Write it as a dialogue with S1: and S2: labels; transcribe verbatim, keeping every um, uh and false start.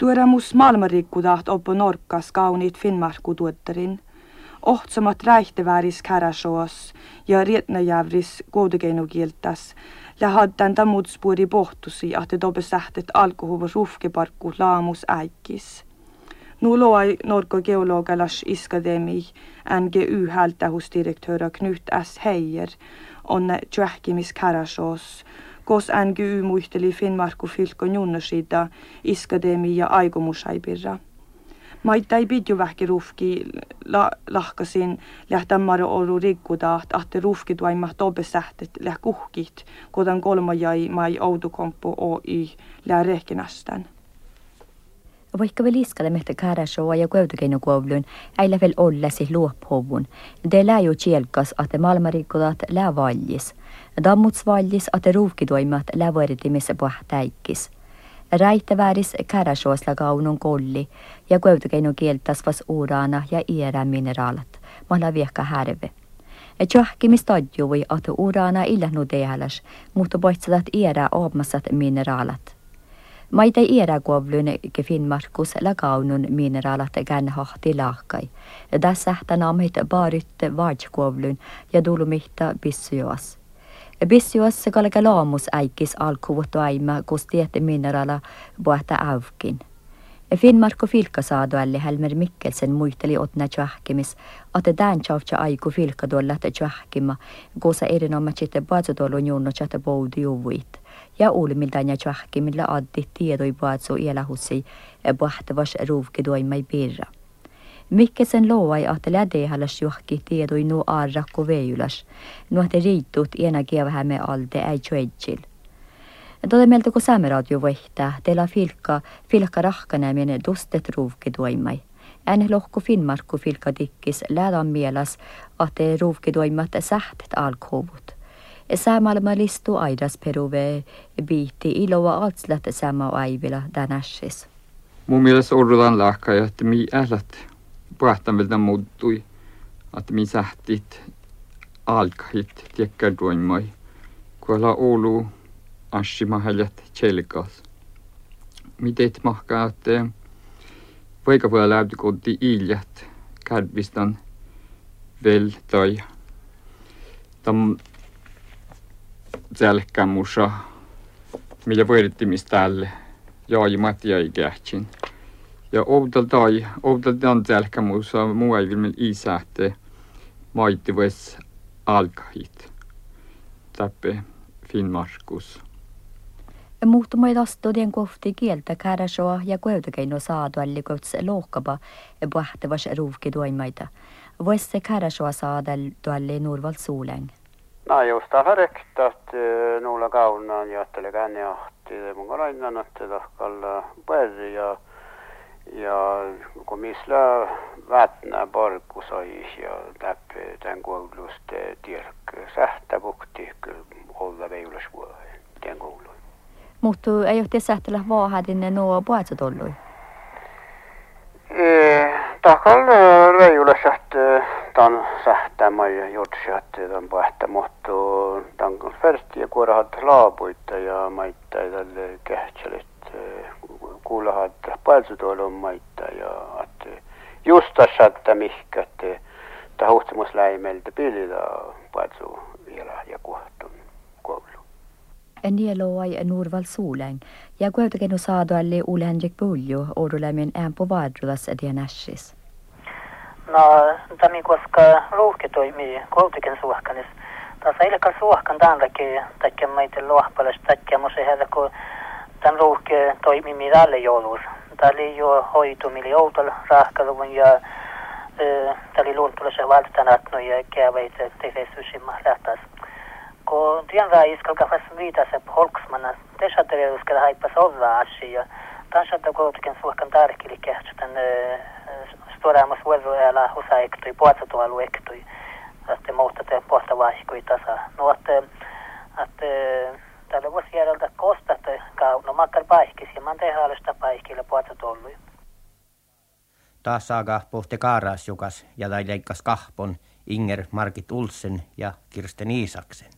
S1: Tuoremus maailmanrikkudaht oppo norkkas kauniit Finnmarkku-tuottarin. Ohtsamat räihtevääris käräsoos ja rietnäjävris koudekeinukieltäs. Lähaddan tamudspuuri pohtusi, ahte tobe sähtet alkohuvus rufkeparkku laamus äikis. Nu loai Norko geologalas iskademi N G U-hältähusdirektöra Knut S. Heijer on tjöhkimis käräsoos. Kos N G U muisteli Finnmarkku fylkon junnasida iskademi ja aikomusaipirra. Maita ei pidju vähki rufki la, lahkasin lähtämmaro oru rikkudaht, ahte rufki tuaimat obesähtet läh kuhkit, kodan kolma jäi mai Outokumpu Oy lää rehkinästän.
S2: Vaikka vielä iskale mehtä käräsoa ja kuevtukeinukuovlun, äillä vielä ollesi luophovun. Det lää jo tjelkas, att malmarikkudat lää valjis. Dammuts valjis, att ruufkituimat lää vuoritimissa pohtäikkis. Räittävääris käräsoosla kaunun kolli ja kuevtukeinukieltäs vas uurana ja iärä mineraalat. Malla viekka härve. Tjohkimis tadjuvui, att uurana illähnu tehalas, mutta poitsadat iärä oopmassat mineraalat. Maita iärä kuovlun ke Finnmarkus la kaunun mineraalat gänhahti laakkai. Tässä sähtän amit baarytte vaajkuovlun ja dulumihta bissujoas. Bissujoas kalka laamus äikis alkuvut aima, kus tiette mineraala puhta avkin. Finnmarku filkasaadualli Helmer Mikkelsen muisteli otna tjahkimis, että tämän tjavtja aiku filkaduollat tjahkima, kosa erinomaisesti patsutolun junnochat boudi juvuit. Ja ulmiltaan ja tjahkimilla addi tiedoi patsu ielahussi pahtavas ruuvkiduimai pirra. Mikkelsen loai, että lädehalas juhki tiedoi nu arrakko veijulas, nuotte riittut ena kevähämme alde ei tjoedjil. Tode meiltä kun saameradio vaihtaa, teillä filkka, filkka rahkanäminen dustet ruuvkiduimai. En lohko Finnmarkku filkka dikkis lädan mielas, että ruuvkiduimat sähtet alkohuvut. Samalla listu aidas peruve biitti iloa altslat sama aivilla tänässis.
S3: Mun mielestä odotan lahkaa, että mi ählät puhtamilta muuttui, että mi sähtit alkahit tiekkäduimai, kuolla Oulu Ashimahaljat tjelkas. Miten mahkaa, että vaikka voi lähti kotiin iljät kärvistan vel tai tam selkämusa, millä voidettimis tälle jaajimat jäi kähtsin. Ja outaltai, outaltaan selkämusa muu ei vielä isähte maittivues alkahit. Täppe Finnmarkus.
S2: Muuttumai astudien kohti kieltä käräsoa ja kuevtukeino saadualli kohts lohkaba puhtavas ruuvkiduimaita. Vois se käräsoa saadualli Nurval Suuläng.
S4: No just alla rektat nulla kaunaan ja ajattele känne ahti mun lainnan että tahkalla päri ja ja kun misla vätnä parku sai ja läpi tämän kouluste tiedäkö sähtäbukti olla veijulas vuoden tämän koulun.
S2: Mutta ei ole te sähtälä vaahadinne nuo puhetsa ollui?
S4: Tahkalla veijulas sähtö tämän sähtämä ja jutsi tämän puhetta, mutta tämän färsti ja kuorahat laapuita ja maita tälle kähtselet kuulahat palsutuolun maita ja että justas saattaa mihkä, että tämä huhtimusläimeltä pilillä palsu vielä ja kuhtun koulu.
S2: Nieloi Nurval Suuläng ja kuitenkin saadualli Ole Henrik Buljo odolämmin äänpo vaadrulas dienässis.
S5: No, tämä koska ruuhki toimii koulutuken suhkanis. Tässä ei ole suhkan tämänkin takia meitä luohpalas takia musta heillä kun tämän ruuhki toimii midalle joulus. Tämä oli jo hoitumili outalla rahkaluvun ja tämä oli luultulassa valtanatnu ja käveitä tehdessä lähtäis. Kun tiedän iskalla fast viitas holksmanna, tässä teillä uskalla haippas olla asia. Tässä on koulutuken suhkan tärkeä kähtsitän Storaamus vuoroajalla osa ektui, puolestatuhalu ektui, että muuta te puolta vaihkui tasa. No, että, että tällä voisi järjeltä kostat kauna makkar paikis ja man tehdään alusta paikille puolestatuhalu.
S6: Taas saaga pohti Kaarasjukas ja tai leikkas kahpon Inger Margit Ulsen ja Kirsten Isaksen.